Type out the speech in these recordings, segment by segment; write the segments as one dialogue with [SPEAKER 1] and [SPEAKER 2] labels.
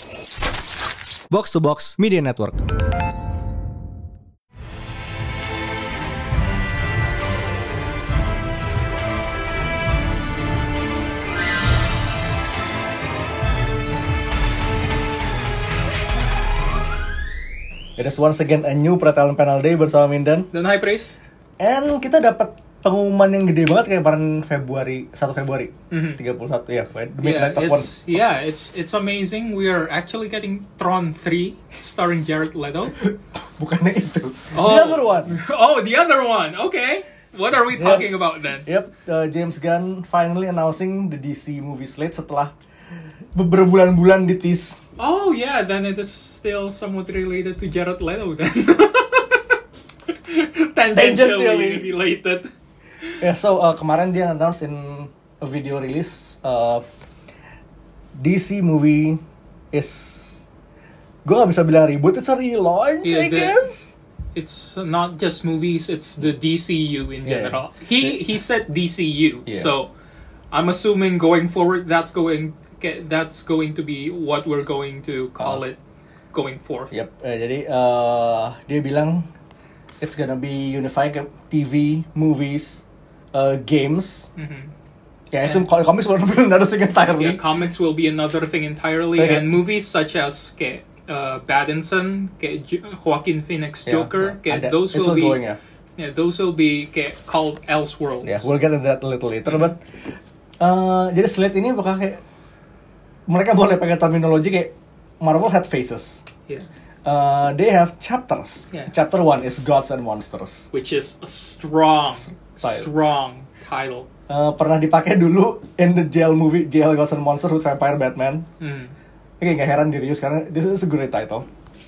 [SPEAKER 1] Box to Box Media Network. It is once again a new Pretalent Panel Day bersama Mindan
[SPEAKER 2] dan High Priest.
[SPEAKER 1] And kita dapat pengumuman yang gede banget kayak kemarin 1 Februari 31 ya, The Midnight of One.
[SPEAKER 2] It's amazing. We are actually getting Tron 3 starring Jared Leto.
[SPEAKER 1] Bukannya itu. The other one.
[SPEAKER 2] Oh, the other one. Okay. What are we talking about then?
[SPEAKER 1] Yep, James Gunn finally announcing the DC movie slate setelah beberapa bulan-bulan di-tease.
[SPEAKER 2] Oh yeah, then it is still somewhat related to Jared Leto then. Tangentially related.
[SPEAKER 1] Yeah, so kemarin dia announce in a video release DC movie is, gue gak bisa bilang reboot, it's a relaunch, I guess.
[SPEAKER 2] It's not just movies, it's the DCU in general. He said DCU, so I'm assuming going forward that's going to be what we're going to call it going forth.
[SPEAKER 1] Yep, jadi dia bilang it's gonna be unifying TV, movies, games. Yeah, I assume comics will be another thing entirely.
[SPEAKER 2] Yeah, comics will be another thing entirely, and movies such as Pattinson, Joaquin Phoenix Joker, those will be going, those will be called Elseworlds.
[SPEAKER 1] Yeah, we'll get into that a little later. But jadi slate ini bakal kayak mereka boleh pakai terminologi kayak Marvel had phases.
[SPEAKER 2] Yeah.
[SPEAKER 1] They have chapters.
[SPEAKER 2] Yeah.
[SPEAKER 1] Chapter 1 is Gods and Monsters,
[SPEAKER 2] which is a strong title.
[SPEAKER 1] Pernah dipakai dulu in the jail movie, Jail Gods and Monsters with Vampire Batman. Oke, nggak heran di reuse karena this is a great title.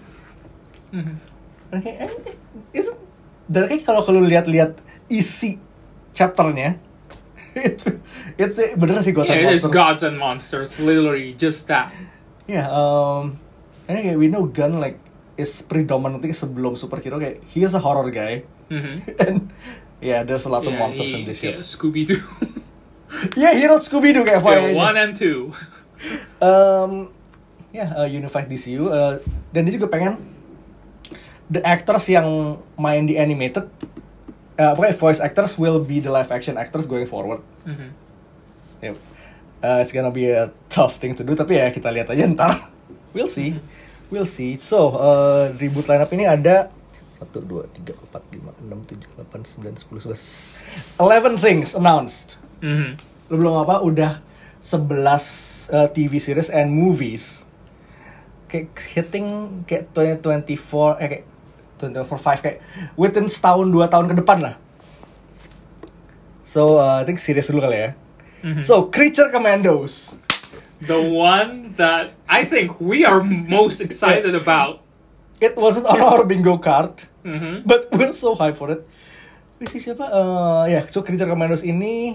[SPEAKER 1] Dan kayak kalau lihat isi chapternya, it's bener sih Gods and Monsters.
[SPEAKER 2] It's Gods and Monsters, literally just that.
[SPEAKER 1] Yeah, kayak we know Gunn like is predominantly sebelum superhero kayak he is a horror guy. And there's a lot of monsters in this shit.
[SPEAKER 2] Scooby-Doo.
[SPEAKER 1] He wrote Scooby-Doo kayak FYI.
[SPEAKER 2] 1 and 2.
[SPEAKER 1] Unified DCU. Dan dia juga pengen the actors yang main di animated, voice actors will be the live action actors going forward. Yep. It's gonna be a tough thing to do, tapi ya kita lihat aja ntar. We'll see. So, reboot lineup ini ada 1, 2, 3, 4, 5, 6, 7, 8, 9, 10, 11 things announced. Lu belum apa, udah 11 TV series and movies. Kayak hitting kayak 2024, kayak 2024 kayak within setahun 2 tahun ke depan lah. So, I think series dulu kali ya. So, Creature Commandos.
[SPEAKER 2] The one that I think we are most excited about.
[SPEAKER 1] It wasn't on our bingo card, but we're so hyped for it. Ini siapa? So Creature Commandos ini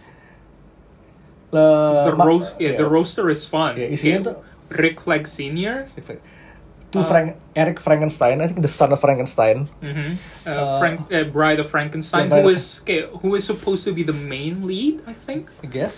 [SPEAKER 2] the roster is fun.
[SPEAKER 1] Isinya tuh
[SPEAKER 2] Rick Flag Sr.
[SPEAKER 1] Eric Frankenstein, I think the son of Frankenstein.
[SPEAKER 2] Bride of Frankenstein, who is supposed to be the main lead, I think.
[SPEAKER 1] I guess.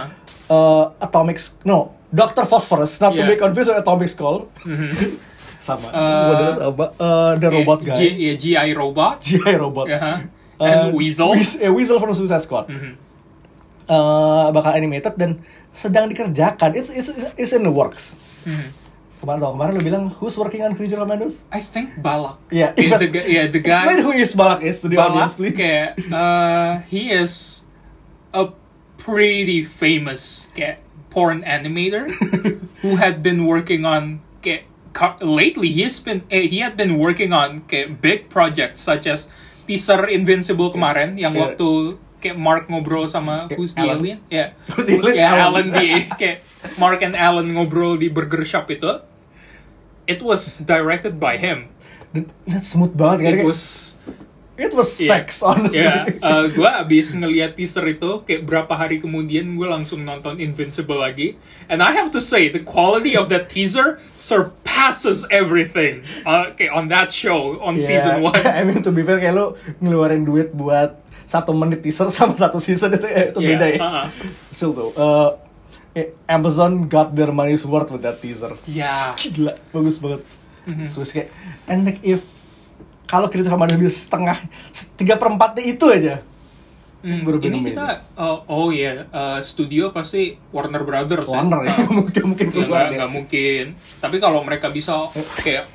[SPEAKER 1] Dr. Phosphorus, not to be confused with Atomic Skull. Sama. The robot guy.
[SPEAKER 2] G.I. Robot.
[SPEAKER 1] G.I. Robot.
[SPEAKER 2] And Weasel.
[SPEAKER 1] Weasel from Suicide Squad. Bakal animated dan sedang dikerjakan. It's in the works. Kemarin lu bilang who's working on Creature Commandos?
[SPEAKER 2] I think Balak.
[SPEAKER 1] The guy. Explain who is Balak is to the audience, please.
[SPEAKER 2] He is a pretty famous porn animator who had been working on lately. He had been working on big projects such as teaser Invincible kemarin yang waktu Mark ngobrol sama who's the alien? Alan Mark and Alan ngobrol di burger shop itu. It was directed by him.
[SPEAKER 1] That's smooth banget kan? It was sex, honestly.
[SPEAKER 2] Gue abis ngeliat teaser itu, kayak berapa hari kemudian gue langsung nonton Invincible lagi. And I have to say, the quality of that teaser surpasses everything on that show, on season 1.
[SPEAKER 1] I mean, to be fair, kayak lu ngeluarin duit buat 1 menit teaser sama 1 season itu beda ya. Still tuh. Amazon got their money's worth with that teaser.
[SPEAKER 2] Yeah.
[SPEAKER 1] Gila, bagus banget. So kayak, and like if kalau Creature Commandos bisa setengah 3/4 itu aja.
[SPEAKER 2] Ini kita studio pasti Warner Brothers.
[SPEAKER 1] Warner ya, mungkin keluar
[SPEAKER 2] nggak mungkin. Tapi kalau mereka bisa kayak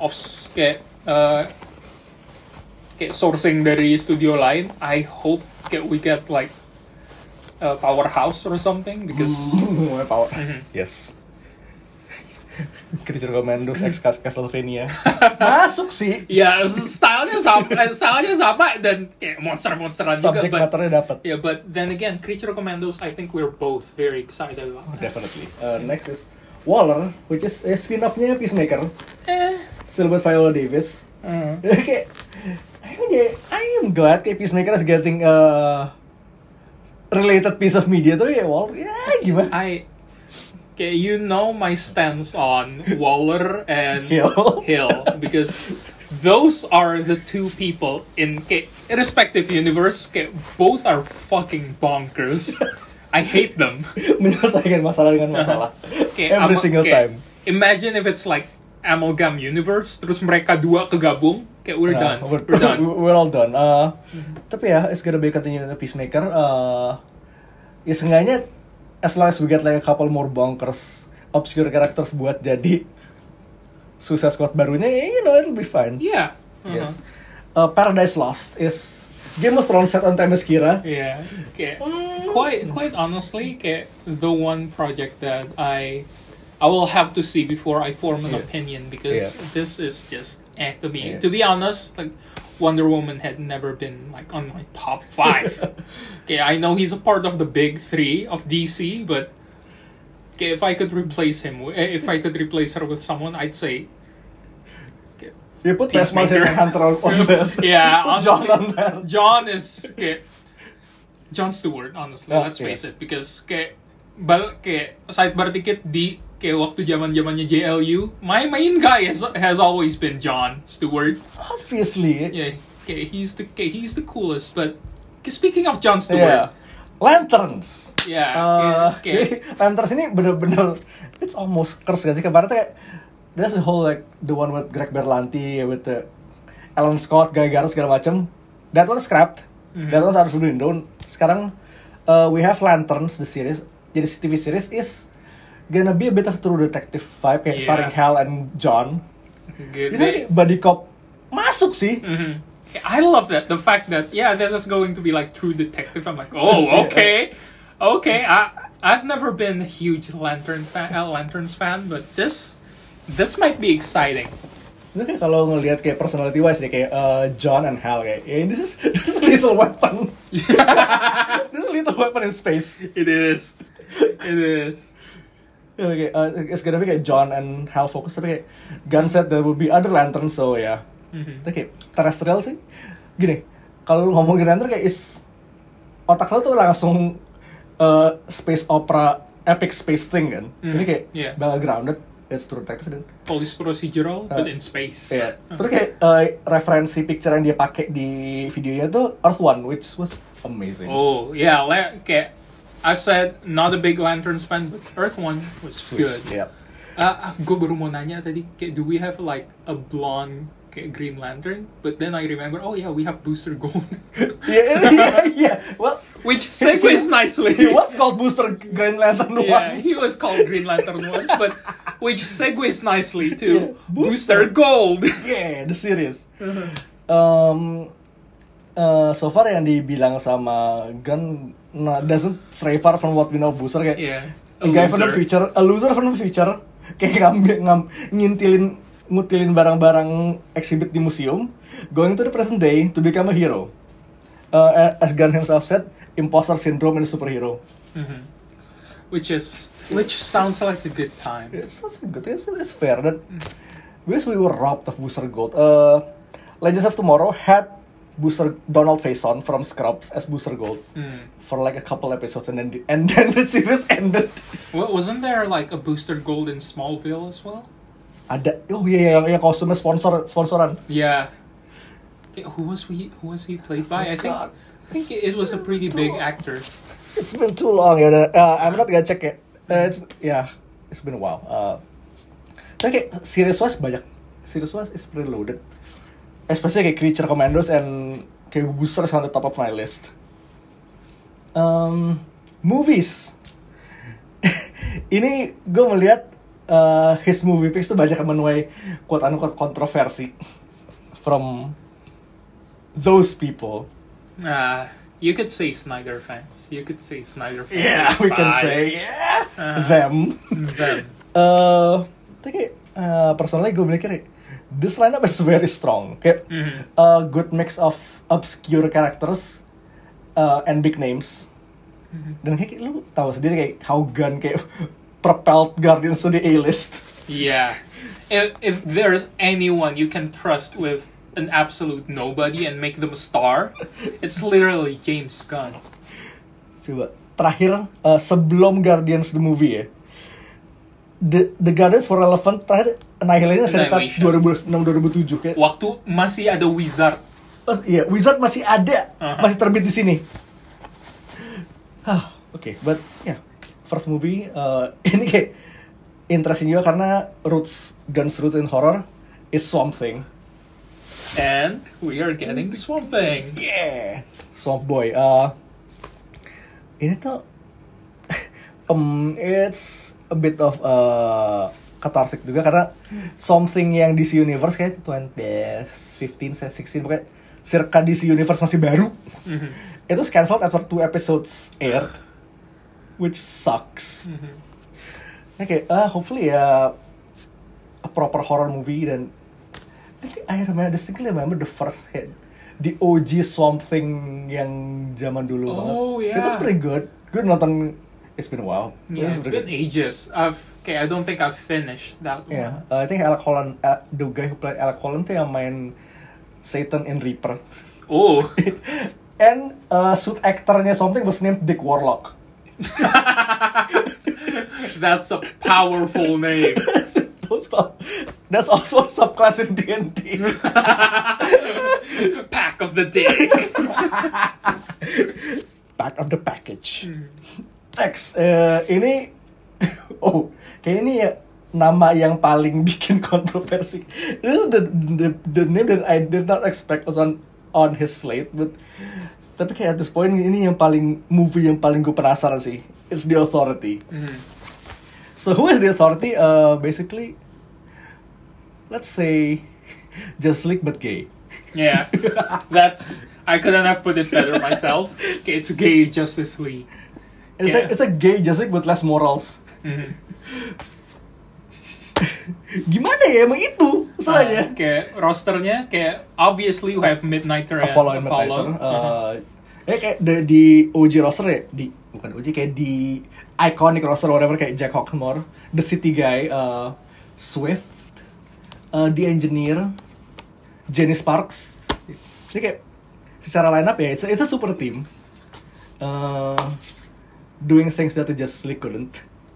[SPEAKER 2] kayak sourcing dari studio lain, I hope we get like Powerhouse or something because
[SPEAKER 1] power. Yes. Creature Commandos X Castlevania masuk sih.
[SPEAKER 2] Ya, stylenya sama dan kayak monster-monsteran juga.
[SPEAKER 1] Subject matternya dapat.
[SPEAKER 2] Yeah, but then again, Creature Commandos, I think we're both very excited about that.
[SPEAKER 1] Definitely. Next is Waller, which is a spin-off-nya Peacemaker. Still with Viola Davis. Kayak, I am glad kayak Peacemaker is getting a related piece of media tuh ya Waller. Ya gimana?
[SPEAKER 2] Okay, you know my stance on Waller and Hill because those are the two people in respective universe. Both are fucking bonkers. I hate them.
[SPEAKER 1] Menyelesaikan masalah dengan masalah. Every single time.
[SPEAKER 2] Imagine if it's like amalgam universe, terus mereka dua kegabung. Kayak we're done.
[SPEAKER 1] We're all done. Tapi ya, it's gonna be continuing the Peacemaker. Ya seenggaknya as long as we get like a couple more bonkers obscure characters buat jadi Suicide Squad barunya, it'll be fine.
[SPEAKER 2] Yeah.
[SPEAKER 1] Yes. Paradise Lost is Game of Thrones set on Themyscira.
[SPEAKER 2] Yeah. Quite honestly, the one project that I will have to see before I form an opinion because this is just to me. To be honest, like Wonder Woman had never been like on my top 5. I know he's a part of the big 3 of DC, but if I could replace her with someone, I'd say
[SPEAKER 1] you put Peacemaker Hunter on there.
[SPEAKER 2] Yeah, honestly,
[SPEAKER 1] John on there.
[SPEAKER 2] John is John Stewart, honestly. Let's face it, because sidebar dikit di waktu zamannya JLU, my main guy has always been John Stewart.
[SPEAKER 1] Obviously.
[SPEAKER 2] Yeah, he's the coolest. But speaking of John Stewart,
[SPEAKER 1] Lanterns.
[SPEAKER 2] Yeah.
[SPEAKER 1] Lanterns ini bener-bener it's almost curse gak sih? Kemarin tuh kayak there's a whole like the one with Greg Berlanti with the Alan Scott, Guy Garner segala macam. That one scrapped. That one's out of the window. Sekarang we have Lanterns the series. Jadi TV series is gonna be a bit of true detective vibe kayak starring Hal and John. Ini buddy cop masuk sih.
[SPEAKER 2] I love that, the fact that this is going to be like true detective. I'm like, oh, okay. I've never been a huge Lanterns fan, but this might be exciting.
[SPEAKER 1] Itu kayak kalau ngelihat kayak personality wise deh kayak John and Hal kayak this is Lethal Weapon. This is Lethal Weapon in space.
[SPEAKER 2] It is.
[SPEAKER 1] It's gonna be kayak John and Hal focus, tapi kayak Gunn said there will be other lanterns, so ya. Tapi kayak terrestrial sih. Gini, kalau lu ngomongin lantern kayak otak lo tuh langsung space opera, epic space thing kan. Ini kayak well grounded, it's true detective dan
[SPEAKER 2] police procedural but in space.
[SPEAKER 1] Yeah. Terus kayak referensi picture yang dia pakai di videonya tuh Earth One, which was amazing.
[SPEAKER 2] Oh yeah, kayak I said not a big Lanterns fan, but Earth One was good.
[SPEAKER 1] Yeah.
[SPEAKER 2] Gue baru mau nanya tadi, kayak, do we have like a blonde kayak Green Lantern? But then I remember, we have Booster Gold.
[SPEAKER 1] yeah. Well,
[SPEAKER 2] which segues nicely.
[SPEAKER 1] He was called Booster Green Lantern once.
[SPEAKER 2] Yeah, he was called Green Lantern once, but which segues nicely to Booster Gold.
[SPEAKER 1] Yeah, the series. So far yang dibilang sama Gunn doesn't stray far from what we know Booster kayak a guy from the future, a loser from the future, kayak ngutilin barang-barang exhibit di museum, going to the present day to become a hero. As Gunn himself said, imposter syndrome and superhero.
[SPEAKER 2] Which sounds like a good time.
[SPEAKER 1] It sounds good. It's fair. That because we were robbed of Booster Gold. Legends of Tomorrow had Donald Faison from Scrubs as Booster Gold for like a couple episodes, and then the series ended.
[SPEAKER 2] Well, wasn't there like a Booster Gold in Smallville as well?
[SPEAKER 1] Ada. Oh iya, yang kostumnya sponsoran.
[SPEAKER 2] Yeah. Who was he played by? I think it was a pretty big actor.
[SPEAKER 1] It's been too long. I'm not gonna check it. It's been a while. Tapi kayak series-wise banyak. Series-wise is pretty loaded. Especially kayak Creature Commandos and kayak Boosters on the top of my list. Movies. Ini gue melihat his movie picks tuh banyak menuai quote-unquote kontroversi from those people.
[SPEAKER 2] You could say Snyder fans.
[SPEAKER 1] Yeah, we can say them. Tapi personally gue mikir this lineup is very strong. Kayak a good mix of obscure characters and big names. Dan kayak lu tahu sendiri kayak how Gunn kayak propelled Guardians to the A-list.
[SPEAKER 2] Yeah. If there's anyone you can trust with an absolute nobody and make them a star, it's literally James Gunn.
[SPEAKER 1] Coba terakhir sebelum Guardians the movie ya, the Guardians were relevant terakhir Annihilation sekitar 2006-2007 kayak.
[SPEAKER 2] Waktu masih ada Wizard.
[SPEAKER 1] Iya, Wizard masih ada, masih terbit di sini. Okay, but yeah, first movie ini kayak interesting juga karena Gunn's roots in horror is Swamp Thing.
[SPEAKER 2] And we are getting Swamp Thing.
[SPEAKER 1] Yeah, Swamp Boy. Ini tuh it's a bit of cathartic juga karena Swamp Thing yang DC Universe kayak 2015, 16 pokoknya circa DC Universe masih baru. It was cancelled after 2 episodes aired, which sucks. Okay, hopefully a proper horror movie. Dan I distinctly remember the first hit, the OG Swamp Thing yang zaman dulu.
[SPEAKER 2] Yeah.
[SPEAKER 1] It was pretty good. Good nonton. It's been a while.
[SPEAKER 2] Yeah, it's been ages. I don't think I've finished that one.
[SPEAKER 1] Yeah, I think Alec Holland, the guy who played Alec Holland tuh yang main Satan in Reaper.
[SPEAKER 2] Oh.
[SPEAKER 1] And suit actornya something was named Dick Warlock.
[SPEAKER 2] That's a powerful name.
[SPEAKER 1] That's also a subclass in D&D.
[SPEAKER 2] Pack of the Dick.
[SPEAKER 1] Pack of the package. Next, ini kayak ini ya nama yang paling bikin kontroversi. This is the name that I did not expect was on his slate, but tapi kayak at this point ini yang paling movie yang paling gue penasaran sih. It's The Authority. So who is The Authority? Basically, let's say Justice League but gay.
[SPEAKER 2] Yeah, I couldn't have put it better myself. It's gay Justice League.
[SPEAKER 1] It's a gay Justice League with less morals. Gimana ya emang itu masalahnya?
[SPEAKER 2] Kayak rosternya kayak obviously you have Midnighter and
[SPEAKER 1] Apollo. Kayak di OG roster ya, bukan OG, kayak di iconic roster whatever, kayak Jack Hawkmore, The City Guy, Swift, The Engineer, Jenny Sparks. Jadi kayak secara lineup ya it's a super team. Doing things that the Justice League couldn't.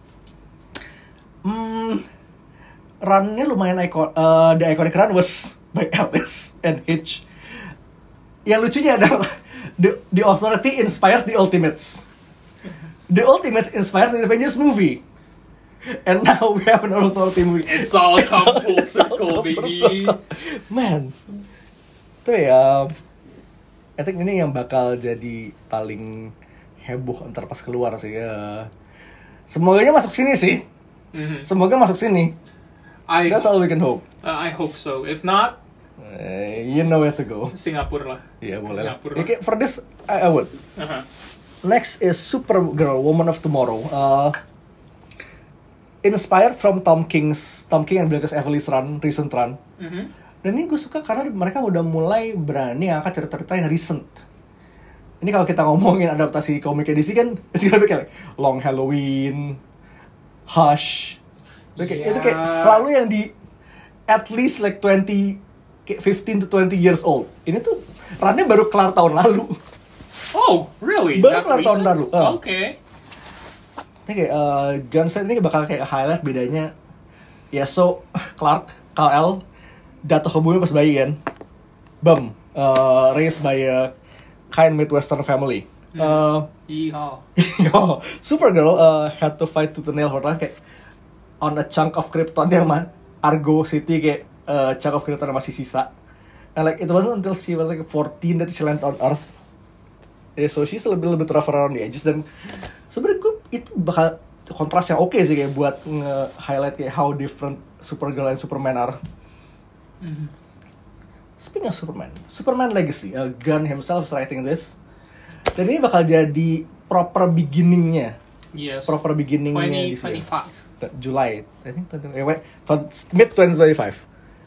[SPEAKER 1] Run-nya lumayan the iconic run was by Alice and Hitch. Yang lucunya adalah the Authority inspired the Ultimates. The Ultimates inspired the Avengers movie. And now we have an Authority movie.
[SPEAKER 2] It's all come full circle, baby.
[SPEAKER 1] Man. Itu ya, I think ini yang bakal jadi paling heboh ntar pas keluar sih ya. Semoganya masuk sini sih. Semoga masuk sini. That's all we can hope.
[SPEAKER 2] I hope so. If not,
[SPEAKER 1] you know where to go.
[SPEAKER 2] Singapura lah.
[SPEAKER 1] Iya, boleh lah.
[SPEAKER 2] Singapura.
[SPEAKER 1] Okay, for this, I would. Next is Supergirl, Woman of Tomorrow. Inspired from Tom King and Bilquis Evely's recent run. Dan ini gue suka karena mereka udah mulai berani angkat cerita-cerita yang recent. Ini kalau kita ngomongin adaptasi komik DC kan, it's gonna be kayak Long Halloween, Hush. Itu kayak selalu yang di at least like 15 to 20 years old. Ini tuh runnya baru kelar tahun lalu.
[SPEAKER 2] Oh, really?
[SPEAKER 1] Baru kelar tahun lalu.
[SPEAKER 2] Okay.
[SPEAKER 1] Ini kayak Gunset ini bakal kayak highlight bedanya. Ya, so Clark, Kal-El jatuh ke bumi pas bayi kan. Raised by a kind Midwestern family.
[SPEAKER 2] Yeehaw.
[SPEAKER 1] Yo, Supergirl had to fight to the nail for kayak on a chunk of Krypton yang Argo City kayak chunk of Krypton yang masih sisa. And like it wasn't until she was like 14 that she landed on Earth. Yeah, so she's a little bit rough around the edges dan sebenarnya gue itu bakal kontras yang oke sih kayak buat nge-highlight kayak how different Supergirl and Superman are. Speaking of Superman Legacy, Gunn himself is writing this. Dan ini bakal jadi proper beginning-nya.
[SPEAKER 2] Yes.
[SPEAKER 1] Proper beginning-nya
[SPEAKER 2] 2025.
[SPEAKER 1] July, I think mid 2025.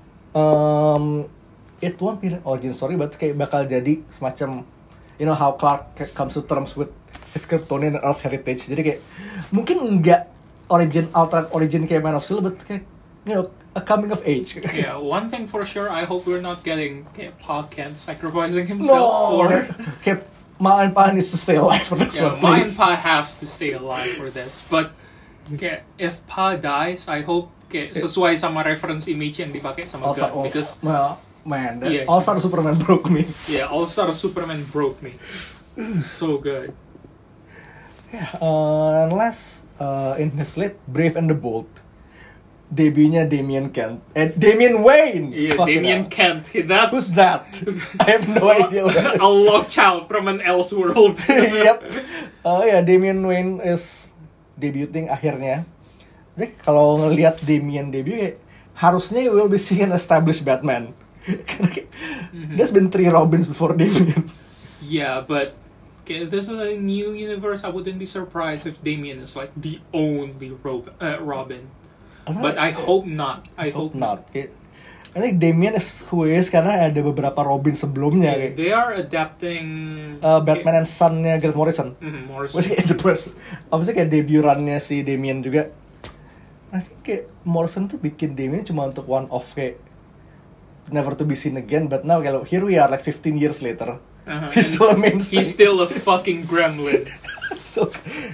[SPEAKER 1] It won't be an origin story, but kayak bakal jadi semacam you know how Clark comes to terms with his Kryptonian and Earth heritage. Jadi kayak mungkin enggak alternate origin kayak Man of Steel, but kayak you know a coming of age.
[SPEAKER 2] Yeah, one thing for sure, I hope we're not getting Pa Kent sacrificing himself for.
[SPEAKER 1] Kayak Ma and Pa needs to stay alive for this one,
[SPEAKER 2] Ma and
[SPEAKER 1] please.
[SPEAKER 2] Pa has to stay alive for this. But if Pa dies, I hope sesuai sama reference image yang dipakai sama Gunn. Because
[SPEAKER 1] man, All-Star Superman broke me.
[SPEAKER 2] Yeah, All-Star Superman broke me. So good.
[SPEAKER 1] Yeah, unless in his slate, Brave and the Bold. Debutnya Damian Wayne.
[SPEAKER 2] Yeah, Damian Kent.
[SPEAKER 1] Who's that? I have no idea.
[SPEAKER 2] A lost child from an Elseworld.
[SPEAKER 1] Yep. Damian Wayne is debuting akhirnya. Jadi kalau ngelihat Damian debut kayak harusnya we will be seeing an established Batman. Karena there's been 3 Robins before Damian.
[SPEAKER 2] Yeah, but if this is a new universe, I wouldn't be surprised if Damian is like the only Robin. But I hope not. I hope not.
[SPEAKER 1] I think Damian is who is karena ada beberapa Robin sebelumnya.
[SPEAKER 2] Yeah, they are adapting
[SPEAKER 1] Batman and Son-nya Grant Morrison.
[SPEAKER 2] Morrison.
[SPEAKER 1] Maksudnya kayak debut run-nya si Damian juga. I think kayak Morrison tuh bikin Damian cuma untuk one off kayak never to be seen again. But now kalau here we are like 15 years later. He's still a mainstay.
[SPEAKER 2] He's still a fucking gremlin.
[SPEAKER 1] So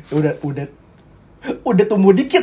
[SPEAKER 1] udah tumbuh dikit.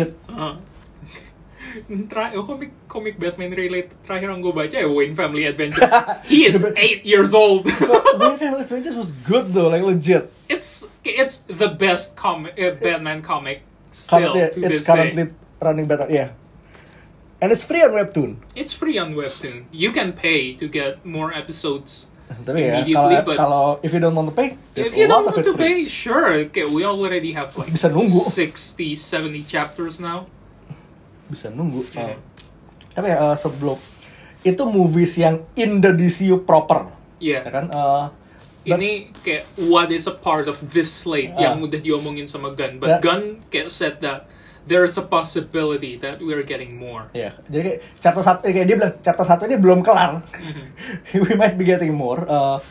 [SPEAKER 2] Komik Batman related terakhir yang gue baca ya Wayne Family Adventures. He is 8 years old.
[SPEAKER 1] Wayne Family Adventures was good though, like legit.
[SPEAKER 2] It's the best Batman comic still to
[SPEAKER 1] it's
[SPEAKER 2] this
[SPEAKER 1] currently
[SPEAKER 2] day.
[SPEAKER 1] Running better, yeah. And it's free on Webtoon.
[SPEAKER 2] It's free on Webtoon. You can pay to get more episodes.
[SPEAKER 1] Tapi ya,
[SPEAKER 2] immediately,
[SPEAKER 1] kalau if you don't want to pay, there's
[SPEAKER 2] if you
[SPEAKER 1] a lot
[SPEAKER 2] don't
[SPEAKER 1] of
[SPEAKER 2] want
[SPEAKER 1] it
[SPEAKER 2] to
[SPEAKER 1] free.
[SPEAKER 2] pay, sure. Okay, we already have like
[SPEAKER 1] Bisa nunggu.
[SPEAKER 2] 60, 70 chapters now.
[SPEAKER 1] Bisa nunggu.
[SPEAKER 2] Yeah.
[SPEAKER 1] Tapi sebelum itu movies yang in the DCU proper.
[SPEAKER 2] Yeah.
[SPEAKER 1] Ya kan?
[SPEAKER 2] Ini kayak what is a part of this slate yang udah diomongin sama Gunn. But Gunn kayak said that there's a possibility that we're getting more.
[SPEAKER 1] Ya, jadi kayak chapter 1 kayak dia bilang chapter 1 ini belum kelar. We might be getting more.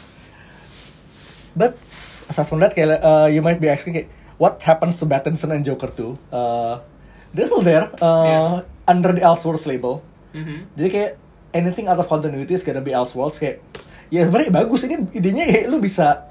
[SPEAKER 1] But aside from that kayak you might be asking kayak what happens to Pattinson and Joker 2? They're still there under the Elseworlds label. Jadi kayak anything out of continuity is gonna be Elseworlds kayak ya sebenarnya bagus ini idenya kayak lu bisa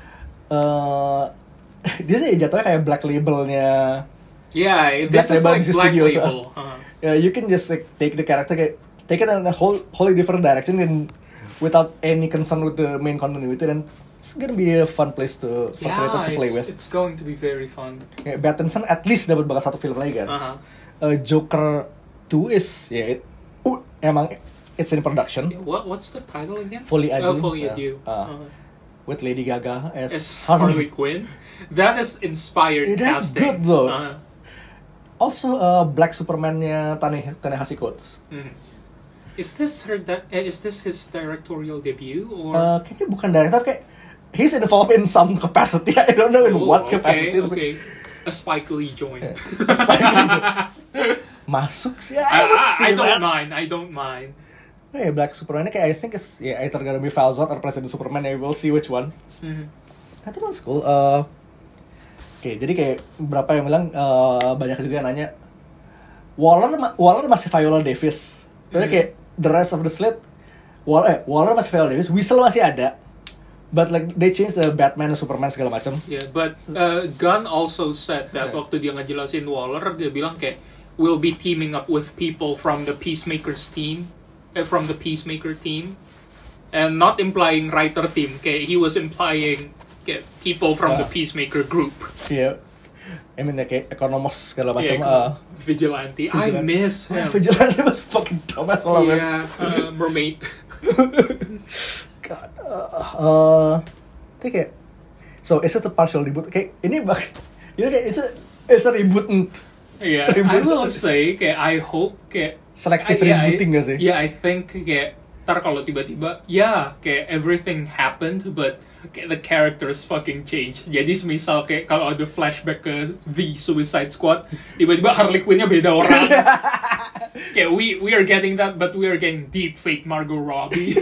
[SPEAKER 1] dia sih jatuhnya kayak black labelnya.
[SPEAKER 2] Yeah, this is like Black Label.
[SPEAKER 1] Yeah, you can just like take the character, take it in a wholly different direction, and without any concern with the main continuity, then it's gonna be a fun place for creators to play with.
[SPEAKER 2] It's going to be very fun.
[SPEAKER 1] Yeah, Pattinson at least dapat bakal 1 film lagi kan. Joker 2 is emang it's in production.
[SPEAKER 2] Yeah, what's the title again?
[SPEAKER 1] Fully Ado.
[SPEAKER 2] Fully Ado.
[SPEAKER 1] With Lady Gaga as
[SPEAKER 2] Harley Quinn. That is inspired casting.
[SPEAKER 1] That's good though. Also, Black Superman-nya Ta-Nehisi Coates.
[SPEAKER 2] Is this his directorial debut or?
[SPEAKER 1] Kayaknya bukan director, kayak he's involved in some capacity. I don't know in what capacity.
[SPEAKER 2] Okay. A Spike Lee joint.
[SPEAKER 1] Masuk sih. I
[SPEAKER 2] don't mind.
[SPEAKER 1] Hey, Black Superman kayak I think it's either gonna be Val Zod or President Superman. We'll see which one. Itu kan cool. Oke, jadi kayak berapa yang bilang banyak juga yang nanya Waller masih Viola Davis. Tapi kayak the rest of the slate Waller masih Viola Davis, Weasel masih ada. But like they changed the Batman and Superman segala macam.
[SPEAKER 2] Yeah, but Gunn also said that waktu dia ngejelasin Waller, dia bilang kayak we'll be teaming up with people from the Peacemaker team, and not implying writer team. Kayak he was implying kayak people from the Peacemaker group.
[SPEAKER 1] Iya. I mean kayak ekonomos segala macam.
[SPEAKER 2] Vigilante. I miss him.
[SPEAKER 1] Vigilante was fucking dumbass lah.
[SPEAKER 2] Yeah, mermaid.
[SPEAKER 1] God. Kayak so is it a partial reboot? Kayak ini kayak it's a reboot.
[SPEAKER 2] Yeah, I will say kayak I hope kayak
[SPEAKER 1] selective rebooting gak sih?
[SPEAKER 2] Yeah, I think kayak ntar kalau tiba-tiba kayak everything happened but kayak the characters fucking change. Jadi semisal kayak kalau ada flashback ke The Suicide Squad, tiba-tiba Harley Quinn-nya beda orang. Kayak we are getting that, but we are getting deep fake Margot Robbie.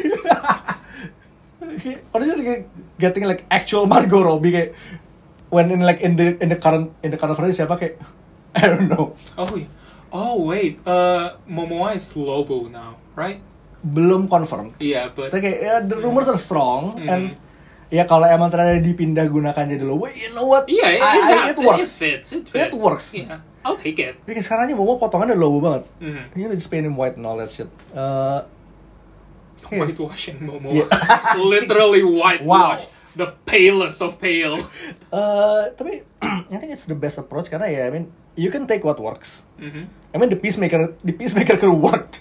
[SPEAKER 1] Honestly, getting like actual Margot Robbie kayak when in the current version siapa kayak I don't know.
[SPEAKER 2] Oh wait, Momoa is Lobo now, right?
[SPEAKER 1] Belum confirm.
[SPEAKER 2] Yeah, but
[SPEAKER 1] kayak the rumors are strong and ya kalau emang ternyata dipindah gunakan jadi Lobo, you know what?
[SPEAKER 2] Yeah,
[SPEAKER 1] it works.
[SPEAKER 2] It
[SPEAKER 1] works.
[SPEAKER 2] Yeah, I'll take it.
[SPEAKER 1] Kayak sekarang aja Momoa potongannya Lobo banget. You know, just paint him white and all that shit.
[SPEAKER 2] Whitewashing Momoa. Yeah. Literally whitewash. Wow. The palest of pale.
[SPEAKER 1] Tapi I think it's the best approach karena ya I mean you can take what works. I mean the Peacemaker crew worked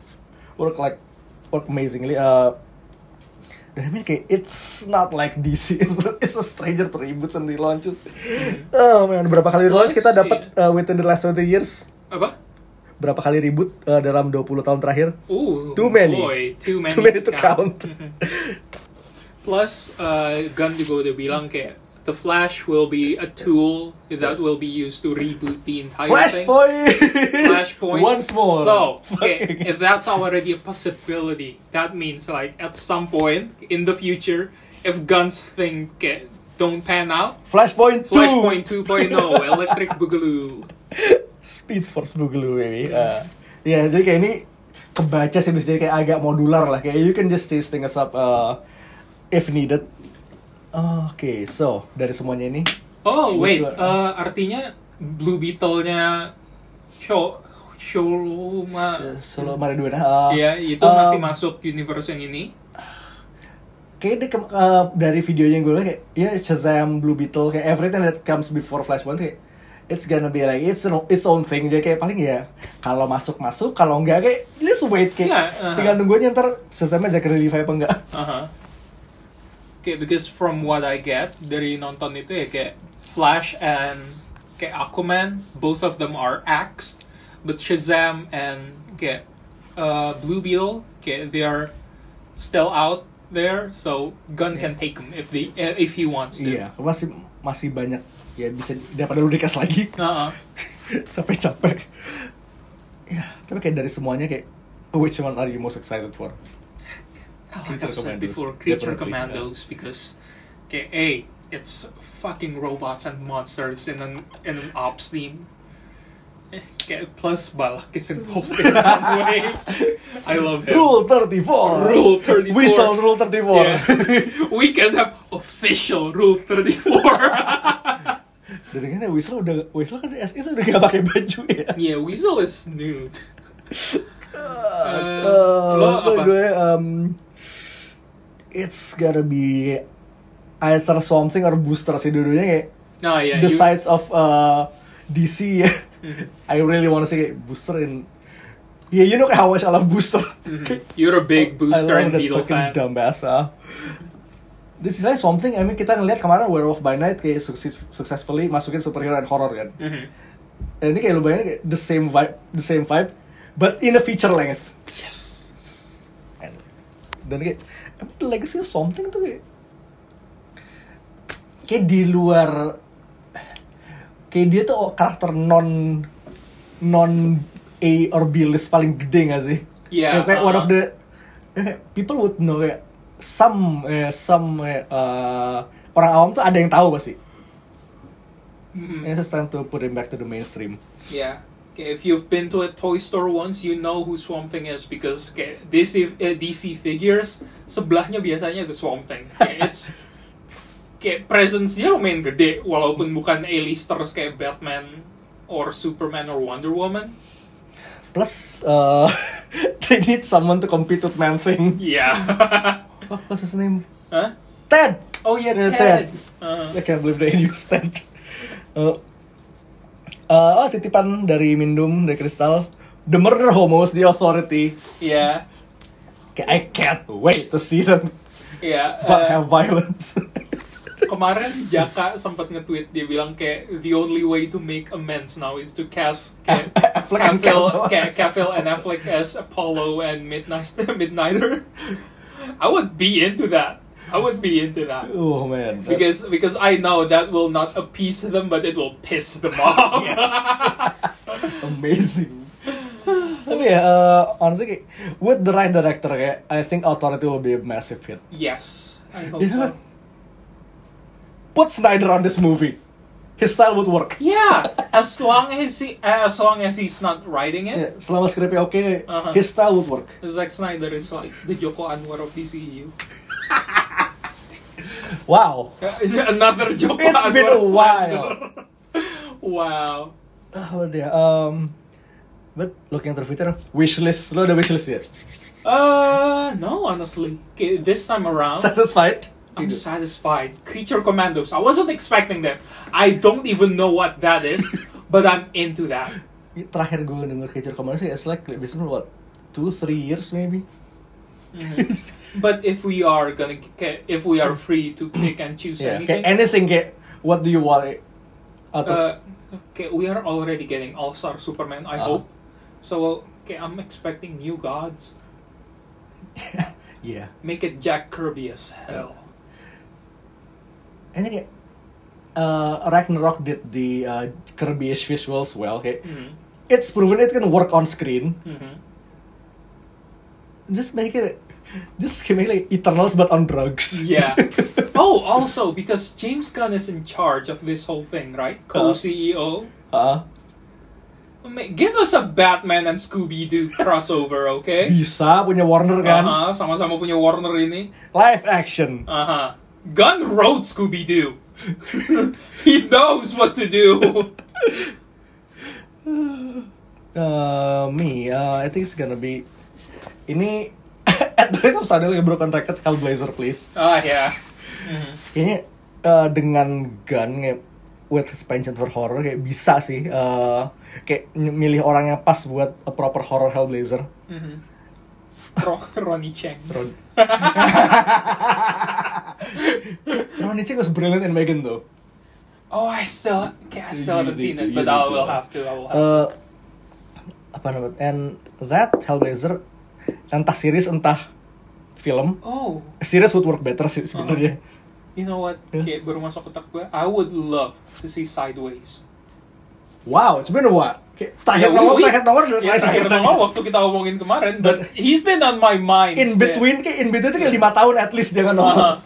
[SPEAKER 1] amazingly. Dan I mean kayak it's not like DC. It's a stranger to reboots and relaunches. Oh man, berapa kali relaunch kita dapat within the last 20 years?
[SPEAKER 2] Apa?
[SPEAKER 1] Berapa kali reboot dalam 20 tahun terakhir?
[SPEAKER 2] Too many
[SPEAKER 1] to count.
[SPEAKER 2] Plus, Gunn juga udah bilang kayak The Flash will be a tool that will be used to reboot the entire thing. Flashpoint.
[SPEAKER 1] Once more.
[SPEAKER 2] So, if that's already a possibility, that means like at some point in the future, if Gunn's thing don't pan out,
[SPEAKER 1] Flashpoint
[SPEAKER 2] 2.0, Electric Boogaloo.
[SPEAKER 1] Speed Force Boogaloo, baby. Ya, jadi kayak ini kebaca sih, jadi kayak agak modular lah. Kayak you can just change things up if needed. Okay, so dari semuanya ini.
[SPEAKER 2] Oh wait, artinya Blue Beetle-nya
[SPEAKER 1] Solo Mariduena.
[SPEAKER 2] Iya, itu masih masuk universe yang ini.
[SPEAKER 1] Kayak dari videonya yang gue lihat kayak Shazam, Blue Beetle, kayak everything that comes before Flashpoint kayak it's gonna be like its own thing. Jadi kayak paling ya kalau masuk, kalau enggak kayak let's wait kayak tinggal nungguin ntar Shazamnya Zachary Levi apa enggak.
[SPEAKER 2] Okay, because from what I get dari nonton itu ya kayak Flash and kayak Aquaman, both of them are axed, but Shazam and kayak Blue Beetle kayak they are still out there, so Gunn can take them if he wants to.
[SPEAKER 1] Iya, masih banyak ya bisa daripada lu dikas lagi. Capek-capek. Ya, tapi kayak dari semuanya kayak which one are you most excited for?
[SPEAKER 2] Like I've said before, Creature Commandos, because it's fucking robots and monsters in an ops team. Plus Balak is involved in some way. I love him.
[SPEAKER 1] Rule 34. Whistle Rule 34.
[SPEAKER 2] Yeah. We can have official Rule 34.
[SPEAKER 1] Dan kan Whistle kan di SI udah gak pakai baju ya.
[SPEAKER 2] Yeah, Weasel is nude.
[SPEAKER 1] It's gotta be either Swamp Thing or Booster sih, dua-duanya kayak the sides of DC ya. I really wanna see Booster in. Yeah, you know how much I love Booster.
[SPEAKER 2] You're a big Booster and Beetle fan.
[SPEAKER 1] Dumbass. This is like something. I mean kita ngeliat kemarin Werewolf by Night kayak successfully masukin superhero and horror kan. Dan ini kayak lu bayangin kayak the same vibe, but in a feature length.
[SPEAKER 2] Yes.
[SPEAKER 1] Dan kayak I mean, the legacy of something tuh kayak di luar, kayak dia tuh karakter non A or B list paling gede gak sih?
[SPEAKER 2] Yeah.
[SPEAKER 1] Kayak one of the people would know kayak some orang awam tuh ada yang tahu pasti. It's time to put him back to the mainstream.
[SPEAKER 2] Yeah. Okay, if you've been to a toy store once, you know who Swamp Thing is because DC figures sebelahnya biasanya ada Swamp Thing. It's kayak presence-nya lumayan gede walaupun bukan A-listers kayak Batman or Superman or Wonder Woman.
[SPEAKER 1] Plus they need someone to compete with Man-Thing.
[SPEAKER 2] Yeah.
[SPEAKER 1] What's his name?
[SPEAKER 2] Huh?
[SPEAKER 1] Ted.
[SPEAKER 2] Oh yeah,
[SPEAKER 1] Yeah,
[SPEAKER 2] Ted.
[SPEAKER 1] I can't believe they used that. Titipan dari Mindum, dari Crystal. The Murder Homos, The Authority.
[SPEAKER 2] Yeah.
[SPEAKER 1] I can't wait to see them
[SPEAKER 2] Yeah.
[SPEAKER 1] have violence.
[SPEAKER 2] Kemarin Jaka sempat nge-tweet, dia bilang kayak the only way to make amends now is to cast
[SPEAKER 1] Affleck and
[SPEAKER 2] Cavill and Affleck as Apollo and Midnighter. I would be into that.
[SPEAKER 1] Oh man.
[SPEAKER 2] Because I know that will not appease them, but it will piss them off.
[SPEAKER 1] Amazing. Tapi ya, honestly kayak, with the right director kayak, I think Authority will be a massive hit.
[SPEAKER 2] Yes, I hope
[SPEAKER 1] You know
[SPEAKER 2] so.
[SPEAKER 1] what? Put Snyder on this movie. His style would work.
[SPEAKER 2] Yeah, as long as he's not writing it.
[SPEAKER 1] Yeah, selama skripnya oke,
[SPEAKER 2] Uh-huh.
[SPEAKER 1] his style would work.
[SPEAKER 2] Zack Snyder is like the Joko Anwar of DCU.
[SPEAKER 1] Wow.
[SPEAKER 2] Another Joko
[SPEAKER 1] It's
[SPEAKER 2] Anwar
[SPEAKER 1] been a
[SPEAKER 2] slander.
[SPEAKER 1] while.
[SPEAKER 2] Wow.
[SPEAKER 1] What dia? But looking at the future, wishlist. Lo ada wishlist ya?
[SPEAKER 2] No, honestly. Okay, this time around,
[SPEAKER 1] Satisfied?
[SPEAKER 2] I'm satisfied. Creature Commandos. I wasn't expecting that. I don't even know what that is, but I'm into that.
[SPEAKER 1] Terakhir gue denger Creature Commandos sih, it's like basically what, 2-3 years maybe.
[SPEAKER 2] But if we are free to pick and choose
[SPEAKER 1] Yeah,
[SPEAKER 2] anything,
[SPEAKER 1] kayak anything kayak, what do you want out of?
[SPEAKER 2] okay, we are already getting All-Star Superman. I hope. So, okay, I'm expecting New Gods.
[SPEAKER 1] Yeah.
[SPEAKER 2] Make it Jack Kirby as hell.
[SPEAKER 1] I think Ragnarok did the Kirby-ish visuals well. Okay, it's proven it can work on screen. Just make it like Eternals but on drugs.
[SPEAKER 2] Yeah. Oh, also because James Gunn is in charge of this whole thing, right? Co-CEO. Give us a Batman and Scooby-Doo crossover, okay?
[SPEAKER 1] Bisa punya Warner kan?
[SPEAKER 2] Sama-sama punya Warner ini.
[SPEAKER 1] Live action.
[SPEAKER 2] Gunn wrote Scooby-Doo. He knows what to do.
[SPEAKER 1] I think it's gonna be ini at the rate of suddenly a broken record, Hellblazer please.
[SPEAKER 2] Yeah.
[SPEAKER 1] Kayaknya dengan Gunn kayak with his penchant for horror kayak bisa sih kayak milih orang yang pas buat a proper horror Hellblazer.
[SPEAKER 2] Ronnie Cheng.
[SPEAKER 1] Ronnie Cheng was brilliant in Megan though.
[SPEAKER 2] Oh, I still haven't seen it, but I will have to.
[SPEAKER 1] Apa namanya? And that Hellblazer entah series entah film.
[SPEAKER 2] Oh.
[SPEAKER 1] Series would work better sih sebenarnya.
[SPEAKER 2] You know what? Kayak baru masuk otak gue. I would love to see Sideways.
[SPEAKER 1] Wow, it's been a while. Terakhir
[SPEAKER 2] nomor waktu kita ngomongin kemarin, but he's been on my mind.
[SPEAKER 1] In between kayak 5 tahun at least dia kan nongol.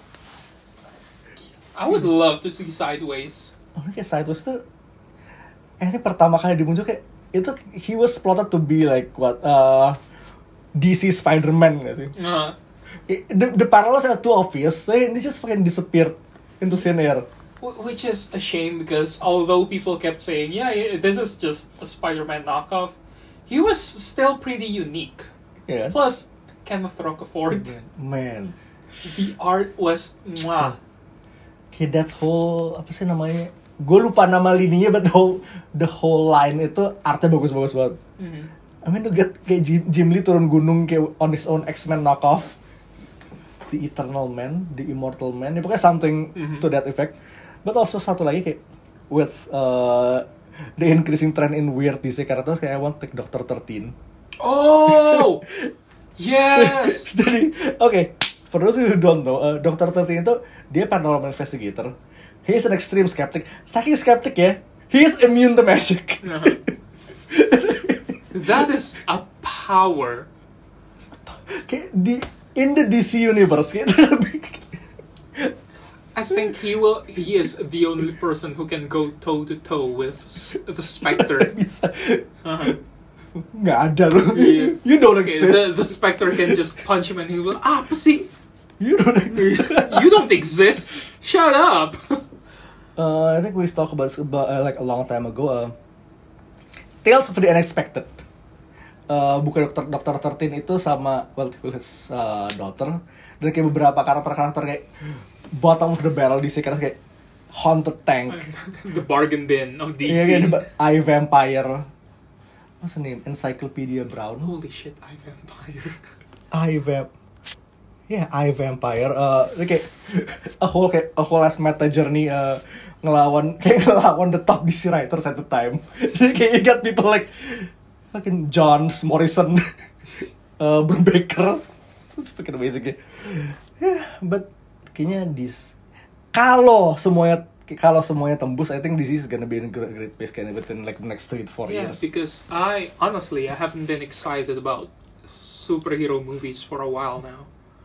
[SPEAKER 2] I would love to see Sideways.
[SPEAKER 1] Kayak Sideways tuh, ini pertama kali dimuncul kayak itu he was plotted to be like what DC Spider-Man gitu. The parallels are too obvious. They just fucking disappeared into thin air.
[SPEAKER 2] Which is a shame because although people kept saying, yeah, this is just a Spider-Man knockoff, he was still pretty unique.
[SPEAKER 1] Yeah.
[SPEAKER 2] Plus, Kenneth Rocafort.
[SPEAKER 1] Man.
[SPEAKER 2] The art was mwah.
[SPEAKER 1] Kayak that whole, apa sih namanya? Gue lupa nama lininya, but the whole line itu artnya bagus-bagus banget. I mean, to get kayak Jim Lee turun gunung kayak on his own X-Men knockoff. The Eternal Man, The Immortal Man, ya pokoknya something to that effect. But also satu lagi kayak with the increasing trend in weird DC characters, kayak I want take Dr. 13.
[SPEAKER 2] Oh! Yes!
[SPEAKER 1] Jadi, okay, for those who don't know, Dr. 13 itu dia paranormal investigator. He is an extreme skeptic. Saking skeptic ya, he is immune to magic.
[SPEAKER 2] That is a power.
[SPEAKER 1] Kayak in the DC universe kayak
[SPEAKER 2] I think he is the only person who can go toe to toe with the Spectre.
[SPEAKER 1] Bisa. Nggak ada loh.
[SPEAKER 2] Yeah.
[SPEAKER 1] You don't exist.
[SPEAKER 2] The Spectre can just punch him and he will, apa sih?
[SPEAKER 1] You don't exist.
[SPEAKER 2] You don't exist. Shut up.
[SPEAKER 1] I think we've talked about like a long time ago. Tales of the Unexpected. bukan Dr. 13 itu sama his daughter, dan kayak beberapa karakter kayak bottom of the barrel DC karena kayak Haunted Tank,
[SPEAKER 2] The bargain bin of DC.
[SPEAKER 1] iya kayak I Vampire, what's the name, Encyclopedia Brown,
[SPEAKER 2] Holy shit, I Vampire.
[SPEAKER 1] I Vampire, kayak a whole as meta journey ngelawan the top DC writers at the time. Jadi kayak you got people like fucking Johns, Morrison, Brubaker, it's fucking amazing ya. Yeah, but kayaknya kalau semuanya tembus, I think this is gonna be in a great pace kind of within like the next 3 to 4
[SPEAKER 2] Yeah,
[SPEAKER 1] years.
[SPEAKER 2] because I haven't been excited about superhero movies for a while now.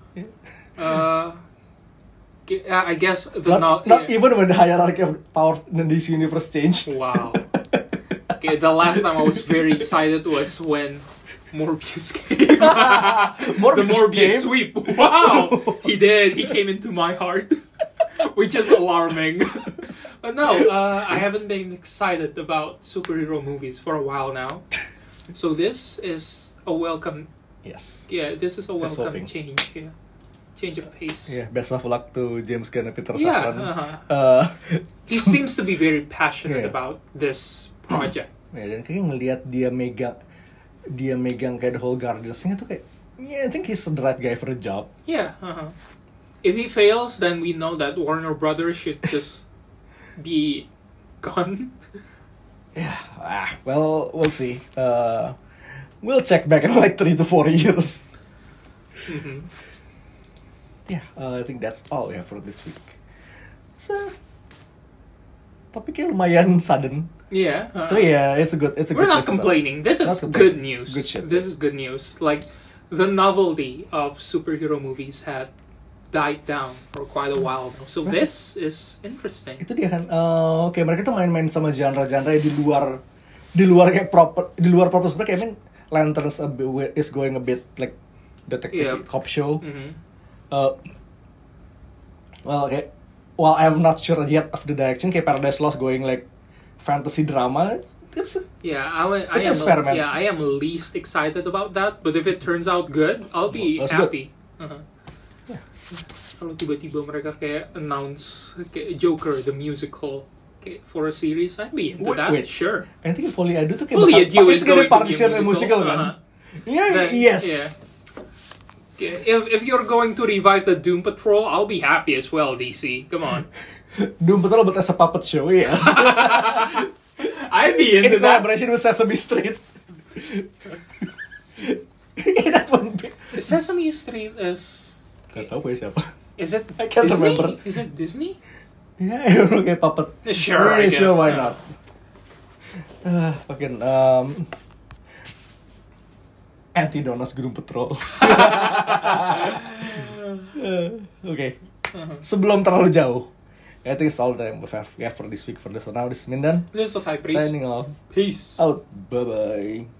[SPEAKER 2] I guess
[SPEAKER 1] Not even when the hierarchy of power in this universe changed.
[SPEAKER 2] Wow. Okay, the last time I was very excited was when Morbius came. The Morbius sweep. Wow, he did. He came into my heart, which is alarming. But no, I haven't been excited about superhero movies for a while now. So this is a welcome.
[SPEAKER 1] Yes.
[SPEAKER 2] Yeah, this is a welcome
[SPEAKER 1] hoping.
[SPEAKER 2] change. Yeah, change of pace.
[SPEAKER 1] Yeah, best of luck to James Gunn and Peter
[SPEAKER 2] Yeah,
[SPEAKER 1] Safran.
[SPEAKER 2] He seems to be very passionate
[SPEAKER 1] Yeah.
[SPEAKER 2] about this project.
[SPEAKER 1] Ya, dan kayak ngelihat dia megang kayak the whole Guardians-nya tuh kayak, yeah, I think he's the right guy for the job.
[SPEAKER 2] Yeah. If he fails, then we know that Warner Brothers should just be gone.
[SPEAKER 1] Yeah, well, we'll see. We'll check back in like 3 to 4 years.
[SPEAKER 2] Mm-hmm.
[SPEAKER 1] Yeah, I think that's all we have for this week. So, topiknya lumayan sudden.
[SPEAKER 2] Yeah.
[SPEAKER 1] Tapi ya, it's a good.
[SPEAKER 2] We're not complaining. This is good news.
[SPEAKER 1] Good shit.
[SPEAKER 2] This is good news. Like, the novelty of superhero movies had died down for quite a while now. So this is interesting.
[SPEAKER 1] Itu dia kan. Oke, mereka tuh main-main sama genre-genre di luar kayak proper sebenarnya kayak Lanterns is going a bit like detective cop show.
[SPEAKER 2] Mm-hmm.
[SPEAKER 1] Well, kayak while I'm not sure yet of the direction, kayak Paradise Lost going like fantasy drama. It's
[SPEAKER 2] I am least excited about that. But if it turns out good, I'll be happy. Kalau tiba-tiba mereka kayak announce kayak Joker the musical kayak for a series, I'd be into that.
[SPEAKER 1] Wait.
[SPEAKER 2] Sure.
[SPEAKER 1] I think Folie à Deux tuh kayak
[SPEAKER 2] Folie à Deux is going to be
[SPEAKER 1] a musical kan? Yeah, yes.
[SPEAKER 2] Yeah. If you're going to revive the Doom Patrol, I'll be happy as well, DC. Come on.
[SPEAKER 1] Doom Patrol but as a puppet show, yes.
[SPEAKER 2] I'd be into
[SPEAKER 1] in collaboration with Sesame Street. That won't be.
[SPEAKER 2] Sesame Street is.
[SPEAKER 1] Gak tau ya siapa.
[SPEAKER 2] Is it?
[SPEAKER 1] I can't
[SPEAKER 2] Disney?
[SPEAKER 1] remember.
[SPEAKER 2] Is it Disney?
[SPEAKER 1] Yeah, I don't know, kayak puppet.
[SPEAKER 2] Sure, I guess.
[SPEAKER 1] Sure, why not? Fucking Anti-Donos Doom Patrol. Okay. Sebelum terlalu jauh, I think it's all the time we have for this week. For this, so now this is Mindan.
[SPEAKER 2] This is High Priest.
[SPEAKER 1] Signing off.
[SPEAKER 2] Peace.
[SPEAKER 1] Out. Bye bye.